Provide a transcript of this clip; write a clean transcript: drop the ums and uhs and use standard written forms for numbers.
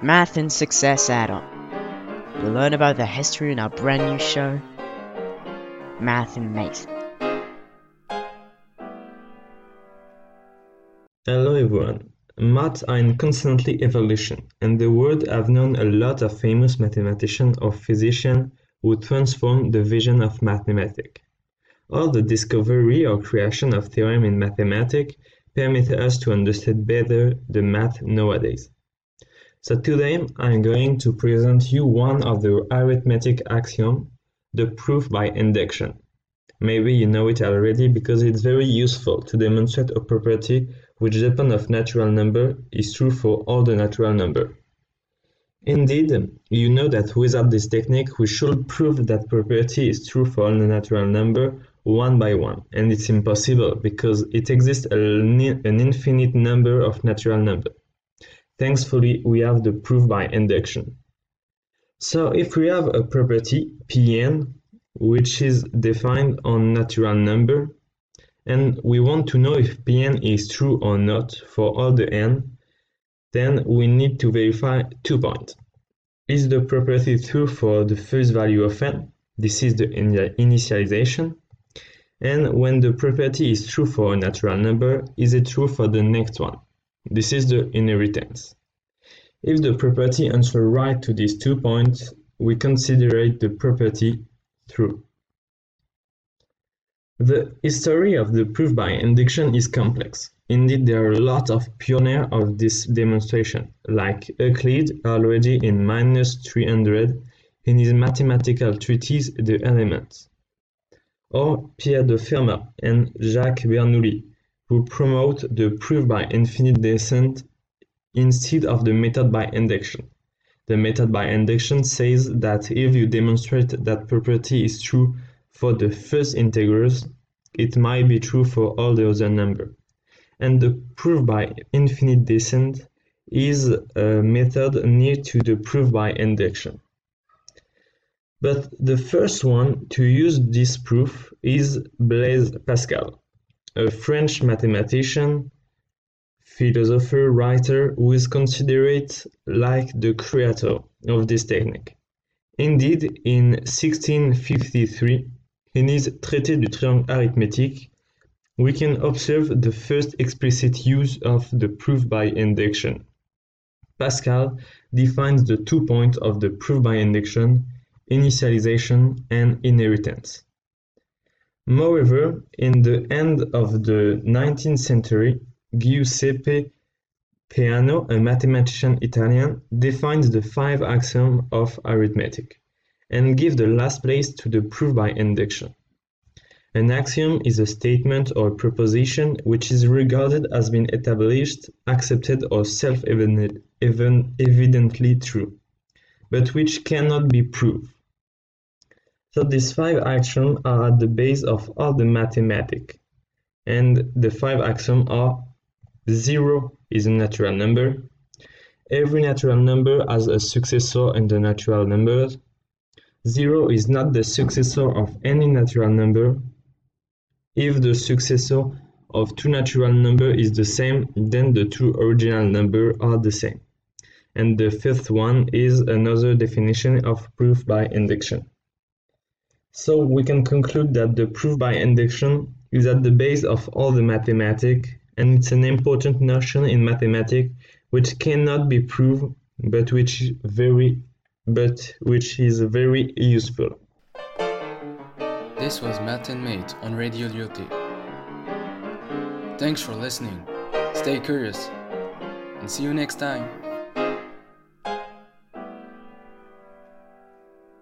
Math and Success Add-on. You'll learn about the history in our brand new show, Math and Mate. Hello everyone. Maths are in constantly evolution, and the world have known a lot of famous mathematicians or physicians who transformed the vision of mathematics. All the discovery or creation of theorem in mathematics permit us to understand better the math nowadays. So today I'm going to present you one of the arithmetic axiom, the proof by induction. Maybe you know it already because it's very useful to demonstrate a property which depends of natural number is true for all the natural number. Indeed, you know that without this technique we should prove that property is true for all the natural number one by one, and it's impossible because it exists an infinite number of natural numbers. Thankfully, we have the proof by induction. So if we have a property Pn, which is defined on natural number, and we want to know if Pn is true or not for all the n, then we need to verify 2 points. Is the property true for the first value of n? This is the initialization. And when the property is true for a natural number, is it true for the next one? This is the inheritance. If the property answers right to these 2 points, we consider the property true. The history of the proof by induction is complex. Indeed, there are a lot of pioneers of this demonstration, like Euclid already in -300 in his mathematical treatise The Elements, or Pierre de Fermat and Jacques Bernoulli, who promote the proof by infinite descent instead of the method by induction. The method by induction says that if you demonstrate that property is true for the first integers, it might be true for all the other numbers. And the proof by infinite descent is a method near to the proof by induction. But the first one to use this proof is Blaise Pascal, a French mathematician, philosopher, writer who is considered like the creator of this technique. Indeed, in 1653, in his Traité du triangle arithmétique, we can observe the first explicit use of the proof by induction. Pascal defines the 2 points of the proof by induction, initialization and inheritance. Moreover, in the end of the 19th century, Giuseppe Peano, a mathematician Italian, defines the 5 axioms of arithmetic and gives the last place to the proof by induction. An axiom is a statement or proposition which is regarded as being established, accepted or self-evidently true, but which cannot be proved. So these 5 axioms are at the base of all the mathematics, and the 5 axioms are: 0 is a natural number, every natural number has a successor in the natural numbers, 0 is not the successor of any natural number, if the successor of 2 natural numbers is the same, then the 2 original numbers are the same. And the fifth one is another definition of proof by induction. So we can conclude that the proof by induction is at the base of all the mathematics, and it's an important notion in mathematics which cannot be proved, but which is very useful. This was Math and Mate on Radio Lyoté. Thanks for listening. Stay curious, and see you next time.